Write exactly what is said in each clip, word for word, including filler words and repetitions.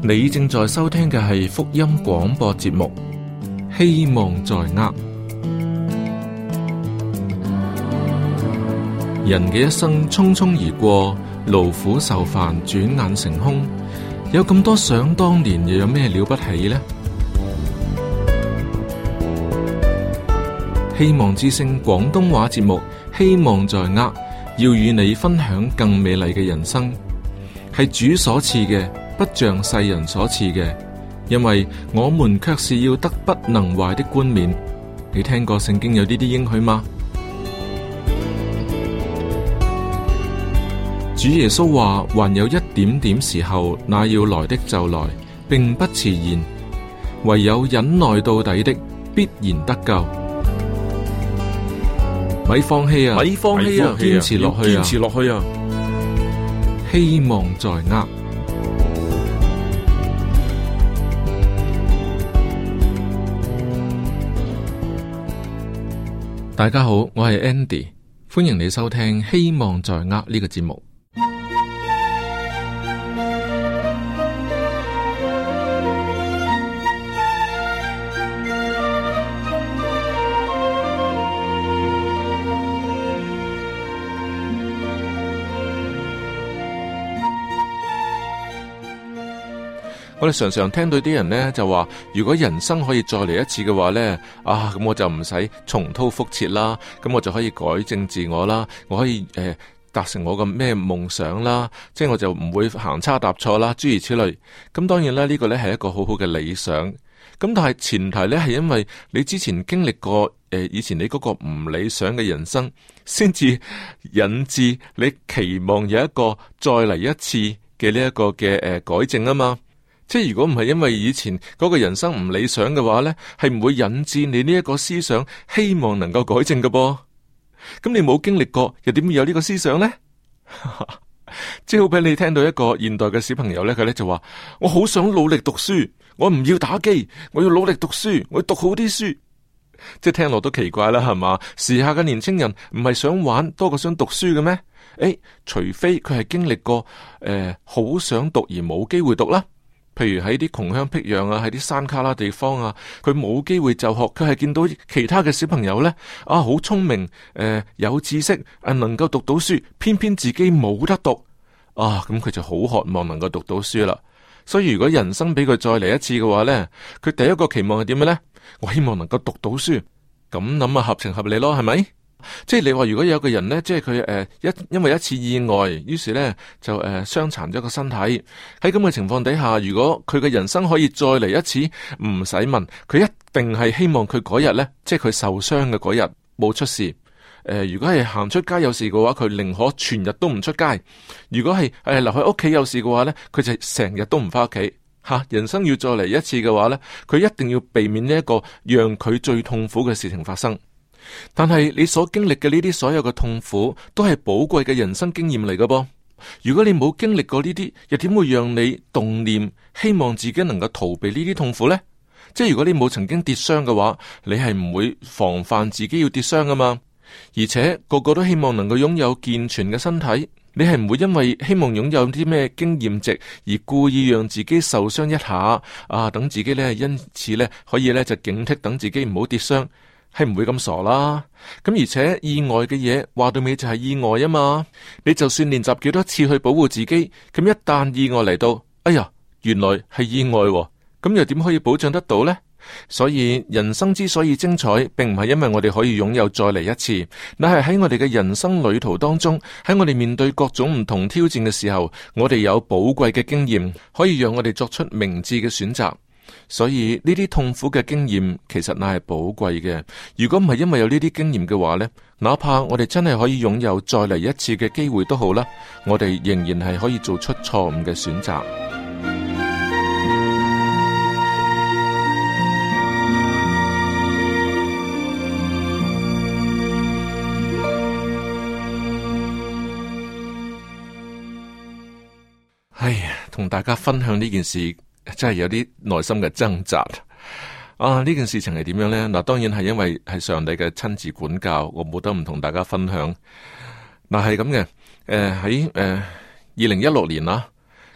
你正在收聽嘅係福音廣播節目，希望在握。人嘅一生匆匆而過，勞苦受煩，轉眼成空。有咁多想當年，又有咩了不起呢？希望之聲廣東話節目，希望在握，要與你分享更美麗嘅人生，係主所賜嘅，不像世人所賜嘅，因為我們卻是要得不能壞的冠冕。你聽過聖經有呢啲應許嗎？主耶穌話：還有一點點時候，那要來的就來，並不遲延。唯有忍耐到底的，必然得救。咪放棄啊！ 咪放棄啊！ 堅持落去啊！ 堅持落去啊！ 希望在握。大家好，我係 Andy，歡迎你收聽《希望在握》呢個節目。我哋常常聽到啲人呢就話，如果人生可以再嚟一次嘅話呢，啊咁我就唔使重蹈覆轍啦，咁我就可以改正自我啦，我可以誒達成我嘅咩夢想啦，即係我就唔會行差踏錯啦，諸如此類。咁當然啦，呢個呢係一個好好嘅理想。咁但係前提呢係因為你之前經歷過誒以前你嗰個唔理想嘅人生，先至引致你期望有一個再嚟一次嘅呢一個嘅誒改正啊嘛。即係如果唔係因為以前嗰個人生唔理想嘅話呢，係唔會引致你呢一個思想希望能夠改正嘅噃。咁你冇經歷過，又點會有呢個思想呢？即係好比你聽到一個現代嘅小朋友呢，佢呢就話：我好想努力讀書，我唔要打機，我要努力讀書，我要讀好啲書。即係聽落都奇怪啦，係嘛？時下嘅年青人唔係想玩多過想讀書嘅咩？誒，除非佢係經歷過誒好、呃、想讀而冇機會讀啦。譬如喺啲窮鄉僻壤啊，喺啲山卡拉地方啊，佢冇機會就學，佢係見到其他嘅小朋友呢，啊好聰明，誒、呃、有知識，啊能夠讀到書，偏偏自己冇得讀，啊咁佢就好渴望能夠讀到書啦。所以如果人生俾佢再嚟一次嘅話呢，佢第一個期望係點樣呢？我希望能夠讀到書，咁諗啊合情合理咯，係咪？即係你話如果有個人呢，即係佢誒一因為一次意外，於是呢就誒傷殘咗個身體。喺咁嘅情況底下，如果佢嘅人生可以再嚟一次，唔使問，佢一定係希望佢嗰日呢，即係佢受傷嘅嗰日冇出事。誒、呃，如果係行出街有事嘅話，佢寧可全日都唔出街。如果係誒、呃、留喺屋企有事嘅話呢，佢就成日都唔翻屋企。吓，人生要再嚟一次嘅話呢，佢一定要避免呢一個讓佢最痛苦嘅事情發生。但係你所經歷嘅呢啲所有嘅痛苦，都係寶貴嘅人生經驗嚟㗎噃。如果你冇經歷過呢啲，又點會讓你動念希望自己能夠逃避呢啲痛苦呢？即係如果你冇曾經跌傷嘅話，你係唔會防範自己要跌傷㗎嘛。而且個個都希望能夠擁有健全嘅身體，你係唔會因為希望擁有啲咩經驗值而故意讓自己受傷一下啊，等自己呢因此呢可以呢就警惕，等自己唔好跌傷。係唔會咁傻啦，咁而且意外嘅嘢話到尾就係意外啊嘛。你就算練習幾多次去保護自己，咁一旦意外嚟到，哎呀，原來係意外喎，咁又點可以保障得到呢？所以人生之所以精彩，並唔係因為我哋可以擁有再嚟一次，乃係喺我哋嘅人生旅途當中，喺我哋面對各種唔同挑戰嘅時候，我哋有寶貴嘅經驗，可以讓我哋作出明智嘅選擇。所以呢啲痛苦嘅經驗其實乃係寶貴嘅。如果唔係因為有呢啲經驗嘅話呢，哪怕我哋真係可以擁有再嚟一次嘅機會都好啦，我哋仍然係可以做出錯誤嘅選擇。哎呀，同大家分享呢件事。真係有啲內心嘅掙扎啊！呢件事情係點樣呢？嗱，當然係因為係上帝嘅親自管教，我冇得唔同大家分享。嗱，係咁嘅，誒喺誒二零一六年啦，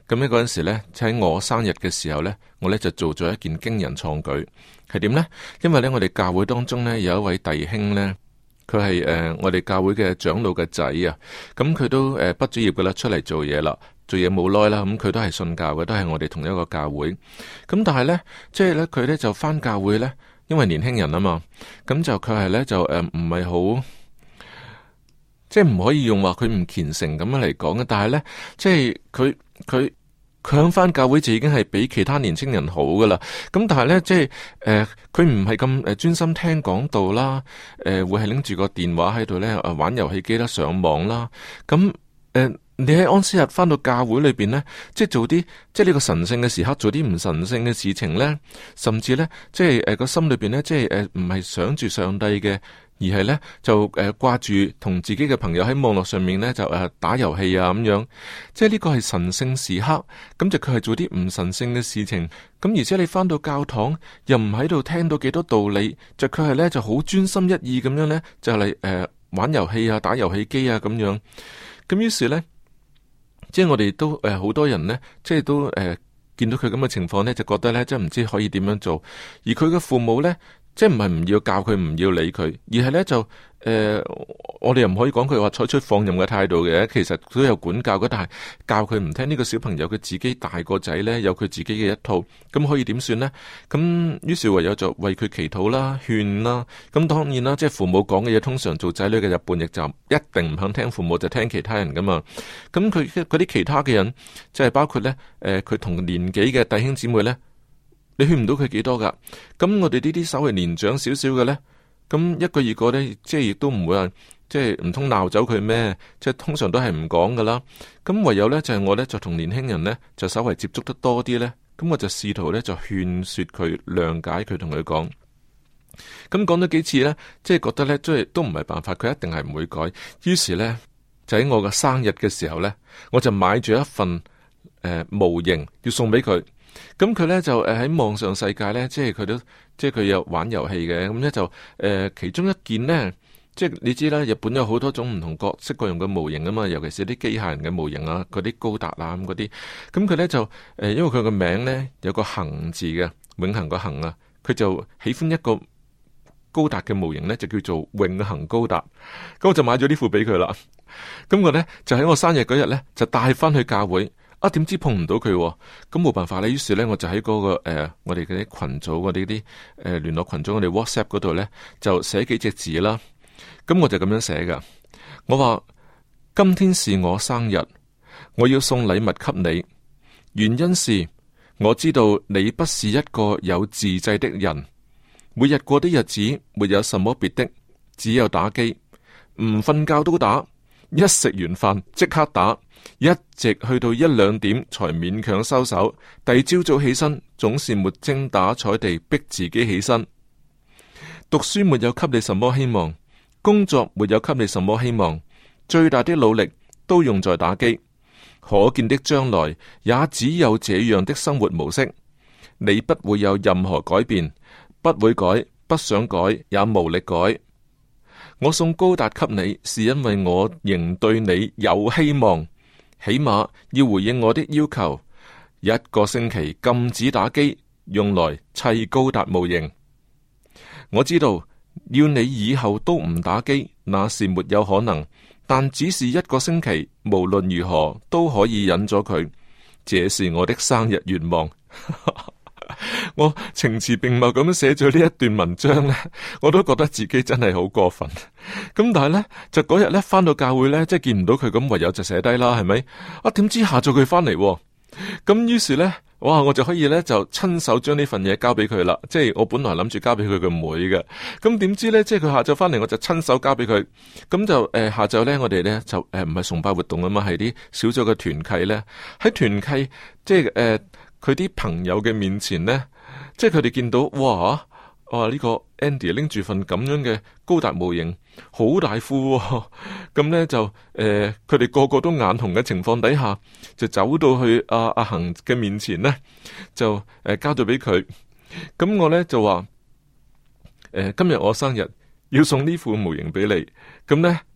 咁呢嗰陣時咧，喺我生日嘅時候呢，我呢就做咗一件驚人創舉，係點呢？因為呢，我哋教會當中呢，有一位弟兄呢，佢係誒我哋教會嘅長老嘅仔啊，咁佢都誒畢咗業噶啦，出嚟做嘢啦，做嘢冇耐啦，咁佢都係信教嘅，都係我哋同一個教會。咁但係呢，即係呢，佢呢就返教會呢，因為年輕人啊嘛，咁就佢係呢，就誒唔係好。即係唔可以用話佢唔虔誠咁樣嚟講嘅，但係呢，即係佢佢佢響翻教會就已經係比其他年青人好噶啦。咁但係呢，即係誒，佢唔係咁誒專心聽講道啦，誒、呃、會係拎住個電話喺度呢誒玩遊戲機啦、上網啦。咁誒、呃，你喺安息日翻到教會裏邊呢，即係做啲即係呢個神聖嘅時刻，做啲唔神聖嘅事情呢，甚至呢，即係誒個心裏邊呢，即係誒唔係想住上帝嘅。而係咧就誒掛住同自己嘅朋友喺網絡上面咧就誒、呃、打遊戲啊咁樣，即係呢個係神聖時刻，咁就佢係做啲唔神聖嘅事情，咁而且你翻到教堂又唔喺度聽到幾多道理，就佢係咧就好專心一意咁樣咧就嚟誒、呃、玩遊戲啊打遊戲機啊咁樣，咁於是咧即係我哋都誒好、呃、多人咧即係都誒、呃、見到佢咁嘅情況咧就覺得咧即係唔知可以點樣做，而佢嘅父母咧。即係唔係唔要教佢，唔要理佢，而係咧就誒、呃，我哋又唔可以講佢話採取放任嘅態度嘅，其實佢都有管教嘅，但係教佢唔聽。呢個小朋友佢自己大個仔咧，有佢自己嘅一套，咁可以點算呢？咁於是唯有就為佢祈禱啦、勸啦。咁當然啦，即係父母講嘅嘢，通常做仔女嘅就叛逆，就一定唔肯聽父母，就聽其他人噶嘛。咁佢嗰啲其他嘅人，即係包括咧誒，佢、呃、同年紀嘅弟兄姊妹咧。你勸唔到佢幾多噶？咁我哋呢啲稍微年長少少嘅呢，咁一個二個呢，即係亦都唔會話，即係唔通鬧走佢咩？即係通常都係唔講噶啦。咁唯有呢，就係、是、我呢，就同年輕人呢，就稍微接觸得多啲呢。咁我就試圖呢，就勸說佢諒解佢，同佢講。咁講咗幾次呢，即係覺得呢，即係都唔係辦法，佢一定係唔會改。於是呢，就喺我嘅生日嘅時候呢，我就買咗一份誒、呃、模型要送俾佢。咁佢咧就誒喺網上世界咧，即係佢都即係佢有玩遊戲嘅，咁咧就誒、呃、其中一件呢，即係你知啦，日本有好多種唔同各式各樣嘅模型啊嘛，尤其是啲機械人嘅模型啊，嗰啲高達啊咁嗰啲，咁佢咧就誒、呃、因為佢個名咧有個恒字嘅，永恆個恆啊，佢就喜歡一個高達嘅模型咧，就叫做永恆高達，咁我就買咗呢副俾佢啦。咁我咧就喺我生日嗰日咧就帶翻去教會。啊！點知碰唔到佢，咁冇辦法咧。於是咧，我就喺嗰、那個誒、呃，我哋嗰啲群組，我哋啲誒聯絡群組，我哋 WhatsApp 嗰度咧，就寫幾隻字啦。咁我就咁樣寫噶。我話今天是我生日，我要送禮物給你。原因是我知道你不是一個有自制的人，每日過的日子沒有什麼別的，只有打機，唔瞓覺都打，一食完飯即刻打。一直去到一兩點才勉強收手，第二朝早起身總是沒精打采地逼自己起身。讀書沒有給你什麼希望，工作沒有給你什麼希望，最大的努力都用在打機。可見的將來也只有這樣的生活模式，你不會有任何改變，不會改，不想改，也無力改。我送高達給你，是因為我仍對你有希望。起碼要回應我的要求，一個星期禁止打機，用來砌高達模型。我知道要你以後都唔打機，那是沒有可能，但只是一個星期，無論如何都可以忍咗佢。這是我的生日願望。我情詞並茂咁樣寫咗呢一段文章呢，我都覺得自己真係好過分。咁但係呢，就嗰日呢翻到教會呢，即係見唔到佢，咁唯有就寫低啦，係咪？啊，點知下晝佢翻嚟，咁於是呢，哇，我就可以呢，就親手將呢份嘢交俾佢啦。即係我本來諗住交俾佢個妹嘅，咁點知呢？即係佢下晝翻嚟，我就親手交俾佢。咁就誒、呃、下晝呢，我哋呢，就誒唔係崇拜活動啊嘛，係啲小組嘅團契呢。喺團契即係誒。呃佢啲朋友嘅面前呢，即係佢哋見到哇，哇呢、這個 Andy 拎住份咁樣嘅高達模型，好大副、哦，咁呢就誒，佢、呃、哋個個都眼紅嘅情況底下，就走到去阿阿恒嘅面前呢，就誒、呃、交咗俾佢。咁我呢就話，誒、呃、今日我生日，要送呢副模型俾你，咁呢就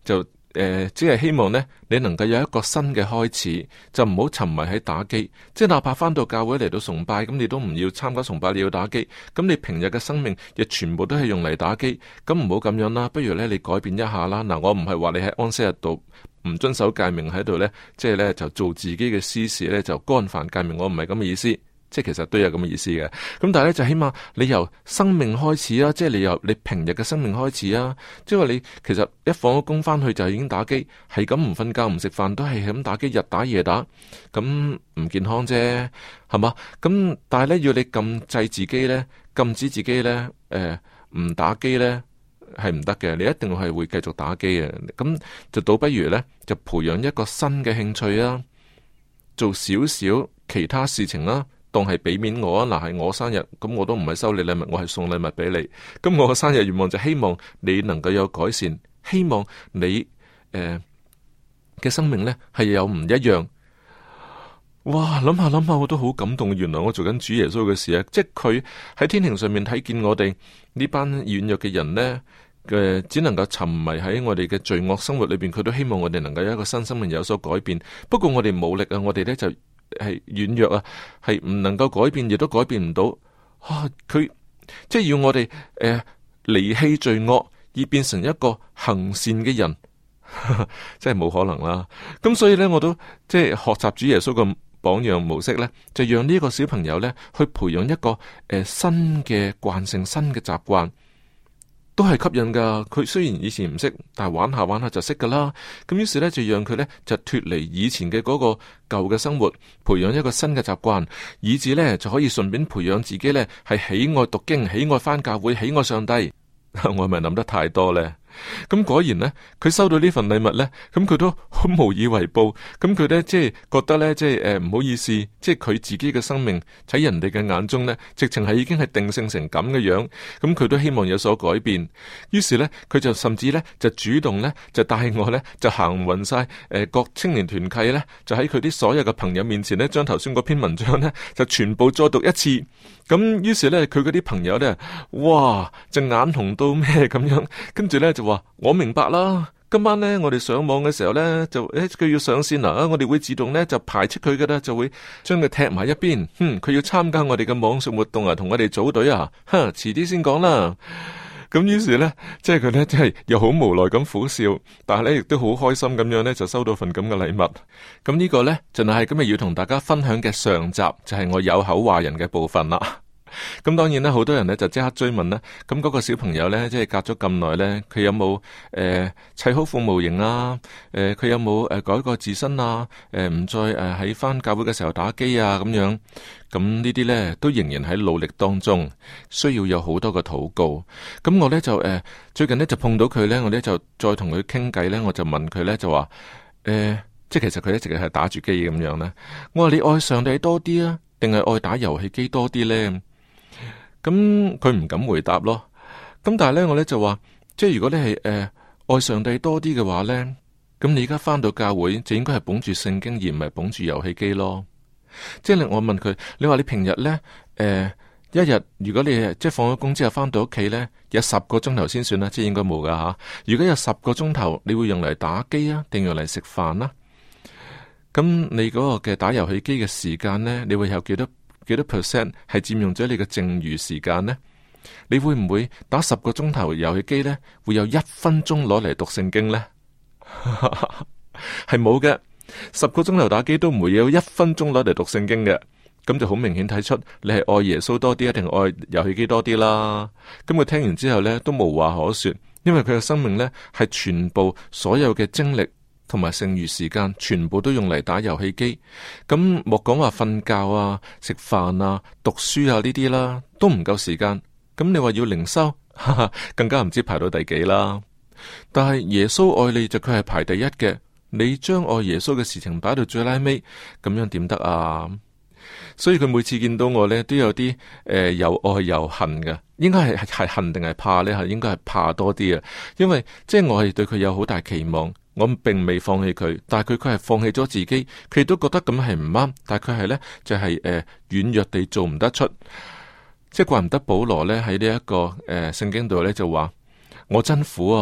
誒，只係希望呢，你能夠有一個新嘅開始，就唔好沉迷喺打機。即係哪怕翻到教會嚟到崇拜，咁你都唔要參加崇拜，你要打機。咁你平日嘅生命亦全部都係用嚟打機，咁唔好咁樣啦。不如呢，你改變一下啦。嗱，我唔係話你喺安息日度唔遵守誡命喺度呢，即係呢，就做自己嘅私事呢，就干犯誡命。我唔係咁嘅意思。即係其實都有咁嘅意思嘅，咁但係咧就起碼你由生命開始啊，即係你由你平日嘅生命開始啊，即係話你其實一放咗工翻去就已經打機，係咁唔瞓覺唔食飯都係咁打機，日打夜打，咁唔健康啫，係嘛？咁但係咧要你禁制自己咧，禁止自己咧，誒、呃、唔打機咧係唔得嘅，你一定係會繼續打機嘅，咁就倒不如咧就培養一個新嘅興趣啊，做少少其他事情啦。當係俾面我啊，嗱係我生日，咁我都唔係收你禮物，我係送禮物俾你。咁我嘅生日願望就希望你能夠有改善，希望你誒嘅、呃、生命呢係有唔一樣。哇，諗下諗下，我都好感動。原來我做緊主耶穌嘅事啊！即係佢喺天庭上面睇見我哋呢班軟弱嘅人呢，嘅、呃，只能夠沉迷喺我哋嘅罪惡生活裏邊，佢都希望我哋能夠有一個新生命有所改變。不過我哋冇力啊，我哋呢就。係軟弱啊，係唔能夠改變，亦都改變唔到。啊，佢即係要我哋誒離棄罪惡，而變成一個行善嘅人，真係冇可能啦。咁所以呢，我都即係學習主耶穌嘅榜樣模式呢，就讓呢個小朋友呢去培養一個誒、呃、新嘅慣性、新嘅習慣。都係吸引噶，佢雖然以前唔識，但係玩下玩下就識噶啦。咁於是呢，就讓佢呢就脫離以前嘅嗰個舊嘅生活，培養一個新嘅習慣，以至呢就可以順便培養自己呢係喜愛讀經、喜愛返教會、喜愛上帝。我係咪諗得太多呢？咁果然呢，佢收到呢份禮物呢，咁佢都好無以為報。咁佢呢，即係覺得呢，即係誒唔好意思，即係佢自己嘅生命喺人哋嘅眼中呢，直情係已經係定性成咁嘅樣。咁佢都希望有所改變。於是呢，佢就甚至呢，就主動呢，就帶我呢，就行勻晒誒各青年團契呢，就喺佢啲所有嘅朋友面前呢，將頭先嗰篇文章呢，就全部再讀一次。咁於是呢，佢嗰啲朋友呢，哇，隻眼紅到咩咁樣，跟住呢，就話我明白啦。今晚呢，我哋上網嘅時候呢，就誒佢要上線啦，我哋會自動呢，就排斥佢噶啦，就會將佢踢埋一邊。哼，佢要參加我哋嘅網上活動啊，同我哋組隊啊，哼，遲啲先講啦。咁於是呢，即係佢呢，真係又好無奈咁苦笑，但係呢，亦都好開心咁樣呢，就收到份咁嘅禮物。咁呢個呢，就係今日要同大家分享嘅上集，就係我有口話人嘅部分啦。咁當然啦，好多人咧就即刻追問啦。咁嗰個小朋友咧，即係隔咗咁耐咧，佢有冇誒砌好副模型啊？誒、呃，佢有冇誒、呃、改過自身啊？誒、呃，唔再誒喺翻教會嘅時候打機啊？咁樣，咁呢啲咧都仍然喺努力當中，需要有好多嘅禱告。咁我咧就誒、呃、最近咧就碰到佢咧，我咧就再同佢傾偈咧，我就問佢咧就話誒、呃，即係其實佢一直係打住機咁樣咧。我話你愛上帝多啲啊，定係愛打遊戲機多啲咧？咁佢唔敢回答咯。咁但係咧，我咧就話，即係如果你係誒、呃、愛上帝多啲嘅話咧，咁你而家翻到教會就應該係捧住聖經而唔係捧住遊戲機咯。即係我問佢，你話你平日咧誒、呃、一日如果你即係放咗工之後翻到屋企咧，有十個鐘頭先算啦，即係應該冇噶吓。如果有十個鐘頭，你會用嚟打機啊，定用嚟食飯啦？咁你嗰個嘅打遊戲機嘅時間咧，你會有幾多？幾多 percent 係佔用咗你嘅剩餘時間呢？你會唔會打十個鐘頭遊戲機呢？會有一分鐘攞嚟讀聖經呢？係冇嘅，十個鐘頭打機都唔會有一分鐘攞嚟讀聖經嘅。咁就好明顯睇出你係愛耶穌多啲，定係愛遊戲機多啲啦。咁佢聽完之後呢，都無話可說，因為佢嘅生命呢，係全部所有嘅精力同埋剩餘時間全部都用嚟打遊戲機，咁莫講話瞓覺啊、食飯啊、讀書啊呢啲啦，都唔夠時間。咁你話要靈修，哈哈，更加唔知排到第幾啦。但係耶穌愛你就佢係排第一嘅，你將愛耶穌嘅事情擺到最拉尾，咁樣點得啊？所以佢每次見到我呢，都有啲誒、呃、又愛又恨嘅，應該係係恨定係怕呢？係應該係怕多啲啊，因為即係我係對佢有好大期望。我並未放棄佢，但係佢佢係放棄咗自己，佢都覺得咁係唔啱，但係佢係呢，就係誒軟弱地做唔得出，即係怪唔得保羅呢喺呢一個誒聖經度呢就話我真苦啊，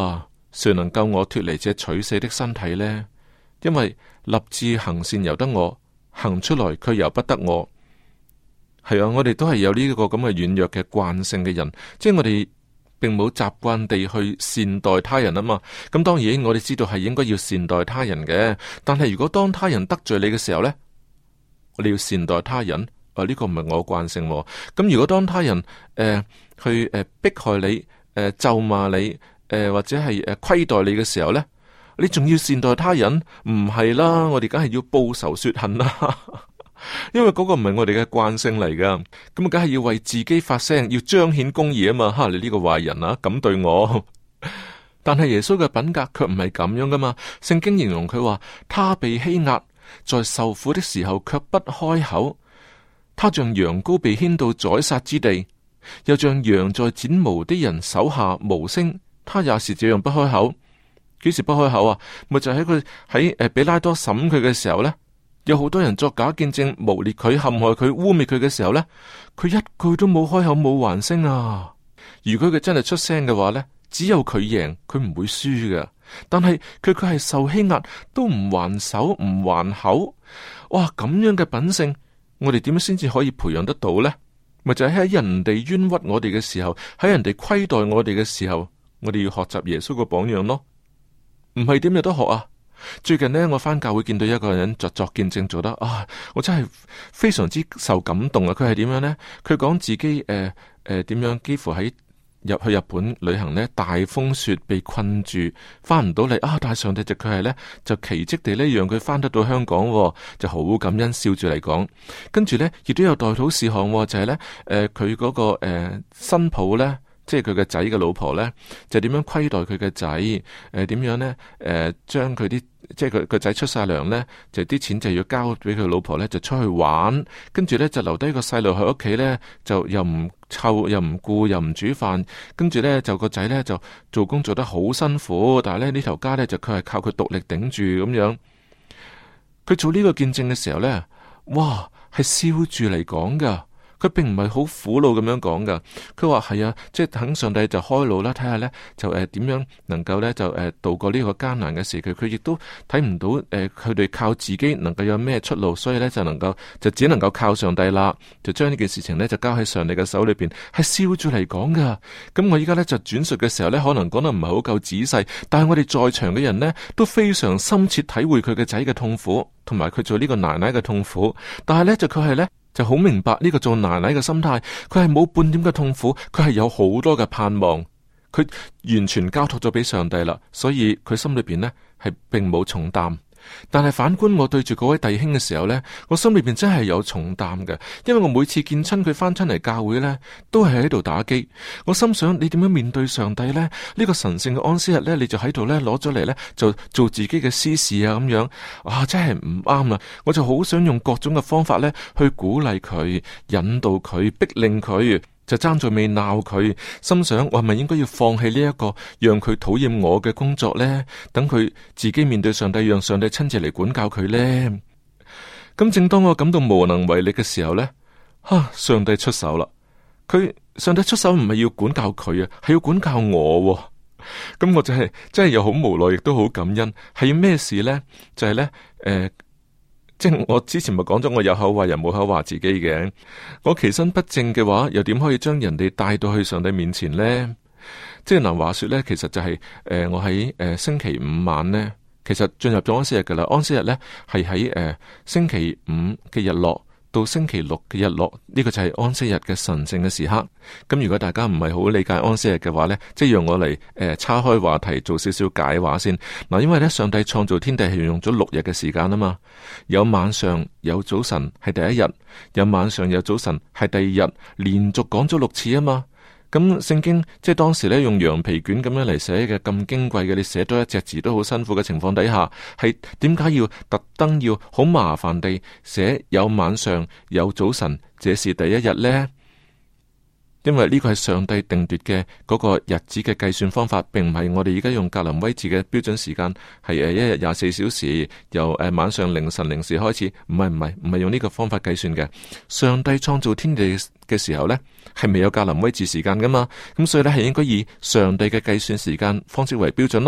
誰能救我脫離這取死的身體呢？因為立志行善由得我，行出來卻由不得我。係啊，我哋都係有呢個咁嘅軟弱嘅慣性嘅人，即係我哋並冇習慣地去善待他人啊嘛。咁當然我哋知道係應該要善待他人嘅，但係如果當他人得罪你嘅時候呢，你要善待他人，啊呢、這個唔係我慣性。咁如果當他人誒、呃、去誒、呃、迫害你、誒、呃、咒罵你、誒、呃、或者係誒虧待你嘅時候呢，你仲要善待他人？唔係啦，我哋梗係要報仇雪恨啦。因為嗰個唔係我哋嘅慣性嚟噶，咁啊，梗係要為自己發聲，要彰顯公義啊嘛！哈，你呢個壞人啊，咁對我。但係耶穌嘅品格卻唔係咁樣噶嘛。聖經形容佢話，他被欺壓，在受苦的時候卻不開口。他像羊羔被牽到宰殺之地，又像羊在剪毛的人手下無聲。他也是這樣不開口。幾時不開口啊？咪就喺佢喺誒比拉多審佢嘅時候呢。有好多人作假見證，誣衊佢、陷害佢、污衊佢嘅時候呢，佢一句都冇開口，冇還聲啊！如果佢真係出聲嘅話呢，只有佢贏，佢唔會輸嘅。但係佢佢係受欺壓，都唔還手、唔還口。哇！咁樣嘅品性，我哋點樣先至可以培養得到呢？咪就係喺人哋冤屈我哋嘅時候，喺人哋虧待我哋嘅時候，我哋要學習耶穌個榜樣咯。唔係點有得學啊？最近呢，我返教會見到一個人作作見證做得啊，我真係非常之受感動啊！佢係點樣呢？佢講自己誒誒點樣，幾乎喺入去日本旅行呢，大風雪被困住，返唔到嚟啊！但係上帝就佢係呢，就奇蹟地呢，讓佢返得到香港，哦，就好感恩，笑住嚟講。跟住呢，亦都有代禱事項，哦，就係、是、呢，誒佢嗰個誒、呃、新抱呢。即係佢嘅仔嘅老婆呢，就點樣虧待佢嘅仔？誒、呃，點樣呢？誒、呃，將佢啲即係佢個仔出晒糧呢，就啲錢就要交俾佢老婆呢，就出去玩，跟住呢，就留低個細路喺屋企呢，就又唔湊又唔顧又唔煮飯，跟住呢，就個仔呢，就做工做得好辛苦，但係咧呢頭家呢，就佢係靠佢獨力頂住咁樣。佢做呢個見證嘅時候呢，哇，係笑住嚟講噶。佢並唔係好苦惱咁樣講噶，佢話係啊，即係等上帝就開路啦，睇下呢，就誒點、呃、樣能夠呢，就誒、呃、度過呢個艱難嘅時期。佢亦都睇唔到誒佢哋靠自己能夠有咩出路，所以呢，就能夠就只能夠靠上帝啦，就將呢件事情呢，就交喺上帝嘅手裏邊，係笑住嚟講噶。咁我依家呢，就轉述嘅時候呢，可能講得唔係好夠仔細，但係我哋在場嘅人呢，都非常深切體會佢嘅仔嘅痛苦，同埋佢做呢個奶奶嘅痛苦。但係呢，就佢係呢。就好明白呢個做奶奶嘅心態，佢係冇半點嘅痛苦，佢係有好多嘅盼望，佢完全交託咗俾上帝啦，所以佢心裏邊呢係並冇重擔。但係反觀我對住嗰位弟兄嘅時候呢，我心裏邊真係有重擔嘅，因為我每次見親佢翻親嚟教會呢，都係喺度打機。我心想，你點樣面對上帝呢？呢個神聖嘅安息日呢，你就喺度呢攞咗嚟呢，就做自己嘅私事啊咁樣，啊真係唔啱啊！我就好想用各種嘅方法呢去鼓勵佢、引導佢、逼令佢。就爭在未鬧佢，心想我係咪應該要放棄呢一個讓佢討厭我嘅工作呢？等佢自己面對上帝，讓上帝親自嚟管教佢呢？咁正當我感到無能為力嘅時候呢，哈！上帝出手啦！佢上帝出手唔係要管教佢啊，係要管教我啊。咁我就係、是、真係又好無奈，亦都好感恩。係要咩事呢？就係、是、呢。誒、呃。即係我之前咪講咗，我有口話人冇口話自己嘅。我其身不正嘅話，又點可以將人哋帶到去上帝面前呢？即係嗱，話說呢，其實就係、是、誒、呃，我喺誒、呃、星期五晚呢，其實進入咗安息日噶啦。安息日呢係喺誒星期五嘅日落到星期六嘅日落，呢、這個就係安息日嘅神聖嘅時刻。咁如果大家唔係好理解安息日嘅話呢，即係讓我嚟誒岔開話題，做少少解話先嗱。因為呢，上帝創造天地係用咗六日嘅時間啊嘛，有晚上有早晨係第一日，有晚上有早晨係第二日，連續講咗六次啊嘛。咁聖經即係當時咧用羊皮卷咁樣嚟寫嘅，咁矜貴嘅，你寫多一隻字都好辛苦嘅情況底下，係點解要特登要好麻煩地寫有晚上有早晨，這是第一日呢？因為呢個係上帝定奪嘅嗰個日子嘅計算方法，並唔係我哋而家用格林威治嘅標準時間，係誒一日廿四小時，由誒晚上凌晨零時開始，唔係唔係唔係用呢個方法計算嘅。上帝創造天地嘅時候呢，係未有格林威治時間噶嘛，咁所以呢，係應該以上帝嘅計算時間方式為標準咯。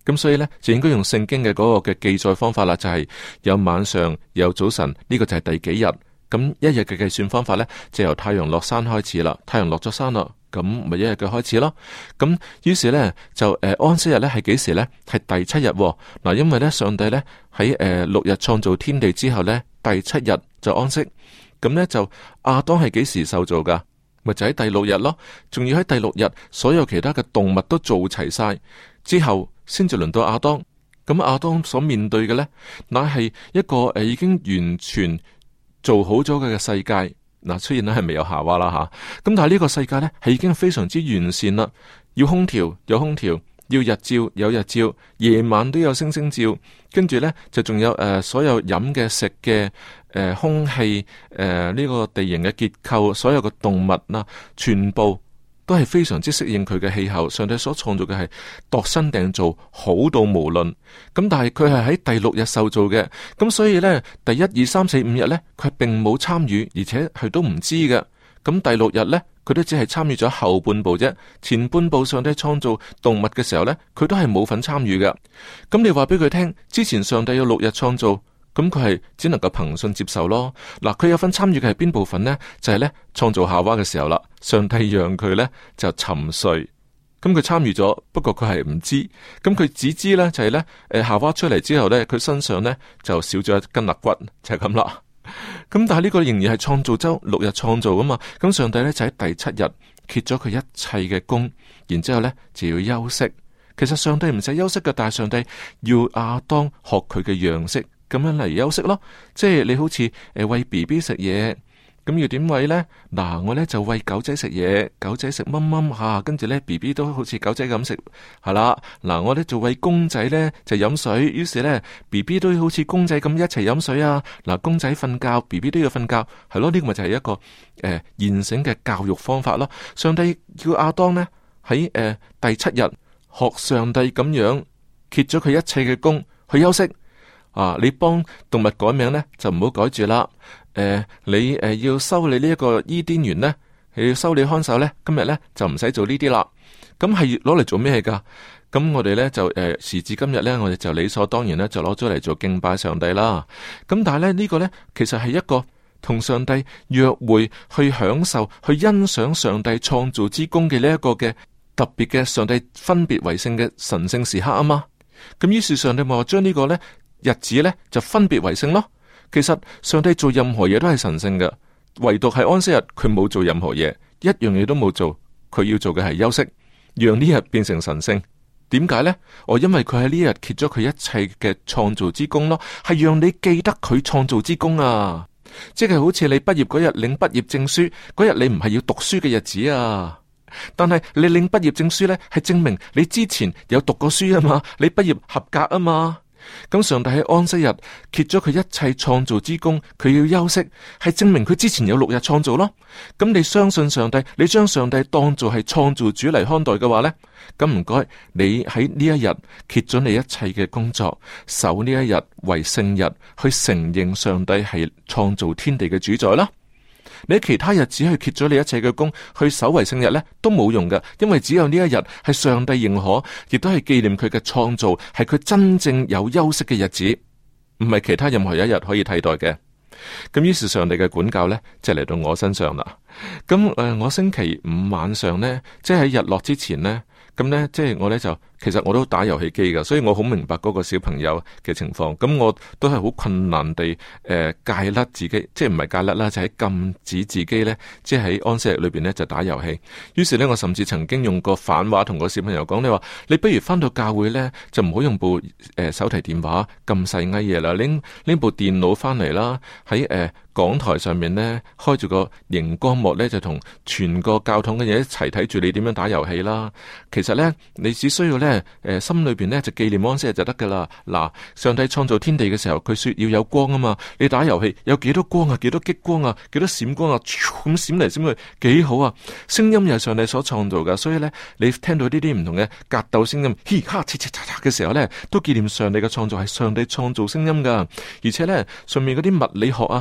咁所以呢，就應該用聖經嘅嗰個嘅記載方法啦，就係、是、有晚上有早晨，呢、這個就係第幾日。咁一日嘅計算方法呢，就由太陽落山開始啦。太陽落咗山啦，咁咪一日嘅開始咯。咁於是呢，就誒、呃、安息日呢係幾時呢？係第七日嗱、哦，因為呢，上帝呢喺誒、呃、六日創造天地之後呢，第七日就安息。咁呢，就亞當係幾時受造噶？咪就喺第六日咯。仲要喺第六日，所有其他嘅動物都做齊晒之後，先至輪到亞當。咁亞當所面對嘅呢，乃係一個誒、呃、已經完全做好咗嘅世界。嗱，雖然咧係未有夏娃啦吓，咁但係呢個世界呢，係已經非常之完善啦。要空調有空調，要日照有日照，夜晚都有星星照。跟住呢，就仲有誒、呃、所有飲嘅食嘅誒、呃、空氣誒呢個地形嘅結構，所有嘅動物啦，全部都係非常之適應佢嘅氣候。上帝所創造嘅係度身訂造，好到無論。咁但係佢係喺第六日受造嘅，咁所以呢，第一二三四五日呢，佢並冇參與，而且係都唔知嘅。咁第六日呢，佢都只係參與咗後半部啫，前半部上帝創造動物嘅時候呢，佢都係冇份參與嘅。咁你話俾佢聽，之前上帝有六日創造，咁佢係只能夠憑信接受咯。嗱，佢有份參與嘅係邊部分呢？就係呢創造夏娃嘅時候啦，上帝讓佢呢就沉睡，咁佢參與咗，不過佢係唔知，咁佢只知呢就係呢，誒夏娃出嚟之後呢，佢身上呢就少咗一根肋骨，就係咁啦。咁但係呢個仍然係創造周六日創造噶嘛，咁上帝呢就喺第七日歇咗佢一切嘅工，然之後呢就要休息。其實上帝唔使休息嘅，但係上帝要亞當學佢嘅樣式，咁樣嚟休息咯。即係你好似誒餵 B B 食嘢。咁要點餵呢？嗱，我呢就餵狗仔食嘢，狗仔食蚊蚊吓，跟住呢 B B 都好似狗仔咁食，係啦。嗱，我呢就餵公仔呢就飲水，於是呢 B B 都好似公仔咁一齊飲水啊。嗱，公仔瞓覺 B B 都要瞓覺，係咯，呢個咪就係一個誒、呃、現成嘅教育方法咯。上帝叫亞當呢喺誒、呃、第七日學上帝咁樣歇咗佢一切嘅工去休息啊。你幫動物改名呢就唔好改住啦。誒、呃，你誒、呃、要修理呢一個伊甸園呢，你要修理看守呢，今日呢就唔使做呢啲啦。咁係攞嚟做咩噶？咁我哋呢就誒、呃、時至今日呢，我哋就理所當然呢，就攞咗嚟做敬拜上帝啦。咁但係呢，呢、這個呢，其實係一個同上帝約會，去享受、去欣賞上帝創造之功嘅呢一個嘅特別嘅上帝分別為聖嘅神聖時刻啊嘛。咁於是上帝咪話將呢個呢日子呢，就分別為聖咯。其實上帝做任何嘢都係神聖嘅，唯獨係安息日佢冇做任何嘢，一樣嘢都冇做。佢要做嘅係休息，讓呢日變成神聖。點解呢？我因為佢喺呢日歇咗佢一切嘅創造之功咯，係讓你記得佢創造之功啊！即係好似你畢業嗰日領畢業證書嗰日，你唔係要讀書嘅日子啊，但係你領畢業證書呢，係證明你之前有讀過書啊嘛，你畢業合格啊嘛。咁上帝喺安息日歇咗佢一切創造之功，佢要休息，係證明佢之前有六日創造咯。咁你相信上帝，你將上帝當做係創造主嚟看待嘅話呢，咁唔該，你喺呢一日歇咗你一切嘅工作，守呢一日為聖日，去承認上帝係創造天地嘅主宰啦。你喺其他日子去歇咗你一切嘅工，去守為聖日呢，都冇用嘅，因為只有呢一日係上帝認可，亦都係紀念佢嘅創造，係佢真正有休息嘅日子，唔係其他任何一日可以替代嘅。咁於是上帝嘅管教呢，就嚟到我身上啦。咁誒、呃，我星期五晚上呢，即係喺日落之前呢，咁呢，即係我呢，就其實我都打遊戲機噶，所以我好明白嗰個小朋友嘅情況。咁我都係好困難地誒、呃、戒甩自己，即係唔係戒甩啦，就係、是、禁止自己呢，即係喺安息日裏邊呢，就打遊戲。於是呢，我甚至曾經用過反話同個小朋友講，你話你不如翻到教會呢，就唔好用部誒、呃、手提電話咁細埃嘢啦，拎拎部電腦翻嚟啦，喺誒。呃講台上面呢，開住個熒光幕呢，就同全個教堂嘅嘢一齊睇住你點樣打遊戲啦。其實呢，你只需要呢，誒、呃、心裏邊呢，就紀念安息日就得噶啦。嗱，上帝創造天地嘅時候，佢說要有光啊嘛。你打遊戲有幾多光啊？幾多激光啊？幾多閃光啊？咁閃嚟閃去，幾好啊！聲音又係上帝所創造噶，所以呢，你聽到呢啲唔同嘅格鬥聲音，嘻哈切切嚓嚓嘅時候呢，都紀念上帝嘅創造係上帝創造聲音噶。而且呢，上面嗰啲物理學啊，啲人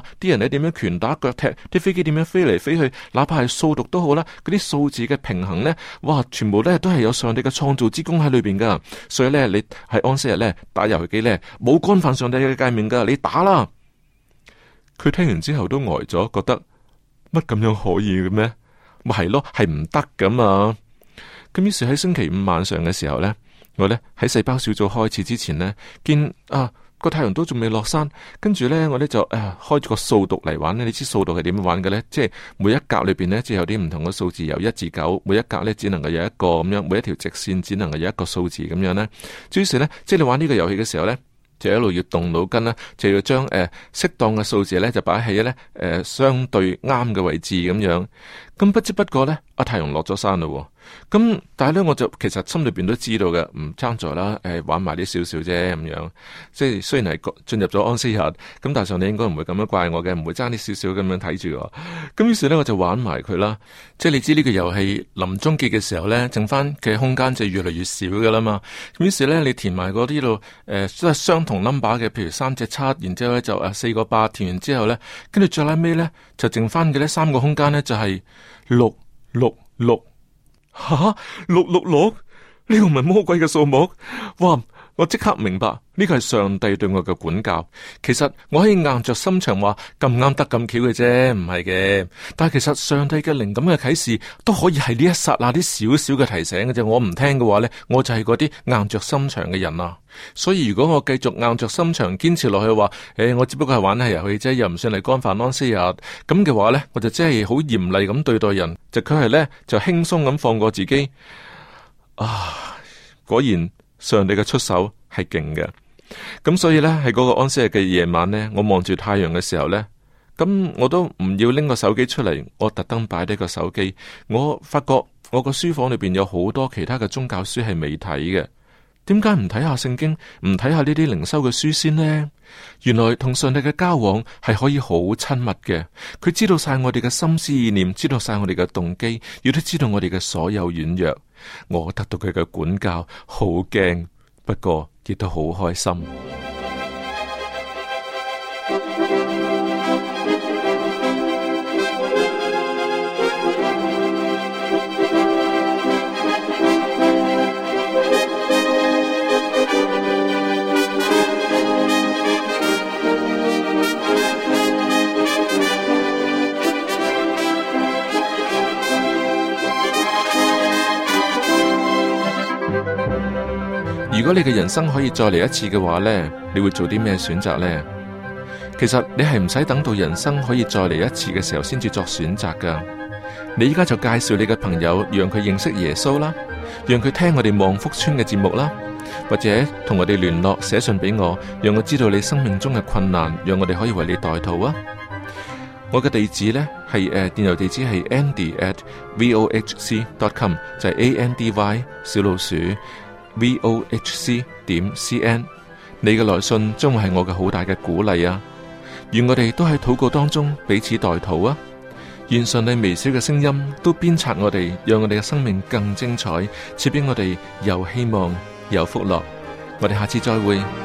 咧點樣拳打腳踢，啲飛機點樣飛嚟飛去，哪怕係數獨都好啦，嗰啲數字嘅平衡呢，哇，全部咧都係有上帝嘅創造之功喺裏邊噶。所以咧，你喺安息日咧打遊戲機咧，冇干犯上帝嘅誡命噶，你打啦。佢聽完之後都呆咗，覺得乜咁樣可以嘅咩？咪係咯，係唔得噶嘛。咁於是喺星期五晚上嘅時候咧，我咧喺細胞小組開始之前咧，見啊個太陽都仲未落山，跟住咧我咧就誒、啊、開咗個數獨嚟玩咧。你知數獨係點樣玩嘅咧？即係每一格裏邊咧，即係有啲唔同嘅數字，由一至九，每一格咧只能夠有一個咁樣，每一條直線只能夠有一個數字咁樣咧。於是咧，即係你玩呢個遊戲嘅時候咧，就一路要動腦筋啦，就要將誒適當嘅數字咧就擺喺咧誒相對啱嘅位置咁樣。咁不知不覺咧，阿太陽落咗山咯。咁但係咧，我就其實心裏邊都知道嘅，唔爭在啦，誒玩埋啲少少啫咁樣。即係雖然係進入咗安息日，咁但係上帝應該唔會咁樣怪我嘅，唔會爭啲少少咁樣睇住我。咁於是咧，我就玩埋佢啦。即係你知呢個遊戲臨終結嘅時候咧，剩翻嘅空間就越嚟越少噶啦嘛。咁於是咧，你填埋嗰啲度誒都係相同 number 嘅，譬如三隻七，然之後咧就誒四個八，填完之後咧，跟住最拉尾咧就剩翻嘅呢三個空間咧就係六六六。吓，六六六呢個唔係魔鬼嘅數目？哇！我即刻明白呢個係上帝對我嘅管教。其實我可以硬着心腸話咁啱得咁巧嘅啫，唔係嘅。但係其實上帝嘅靈感嘅啟示都可以係呢一剎那啲少少嘅提醒嘅啫。我唔聽嘅話呢，我就係嗰啲硬着心腸嘅人啊。所以如果我繼續硬着心腸堅持落去話，誒、欸，我只不過係玩下遊戲啫，又唔算係干犯安息日咁嘅話呢，我就真係好嚴厲咁對待人，就佢係呢，就輕鬆咁放過自己。啊，果然。上帝嘅出手係勁嘅，咁所以呢，喺嗰個安息日嘅夜晚呢，我望住太陽嘅時候呢，咁我都唔要拎個手機出嚟，我特登擺低個手機。我發覺我個書房裏邊有好多其他嘅宗教書係未睇嘅，點解唔睇下聖經，唔睇下呢啲靈修嘅書先呢？原來同上帝嘅交往係可以好親密嘅，佢知道晒我哋嘅心思意念，知道晒我哋嘅動機，亦都知道我哋嘅所有軟弱。我得到佢嘅管教，好驚，不過亦都好開心。如果你嘅人生可以再嚟一次嘅話呢，你會做啲咩選擇呢？其實你係唔使等到人生可以再嚟一次嘅時候先至作選擇噶。你依家就介紹你嘅朋友，讓佢認識耶穌啦，讓佢聽我哋望福村嘅節目啦，或者同我哋聯絡，寫信俾我，讓我知道你生命中嘅困難，讓我哋可以為你代禱啊。我嘅地址呢係誒、呃、電郵地址係 andy at vohc dot com， 就係 a n d y 小老鼠 vohc 點 cn。你嘅來信將會係我嘅好大嘅鼓勵啊！願我哋都喺禱告當中彼此代禱啊！願上帝微小嘅聲音都鞭策我哋，讓我哋嘅生命更精彩，賜俾我哋有希望有福樂。我哋下次再會。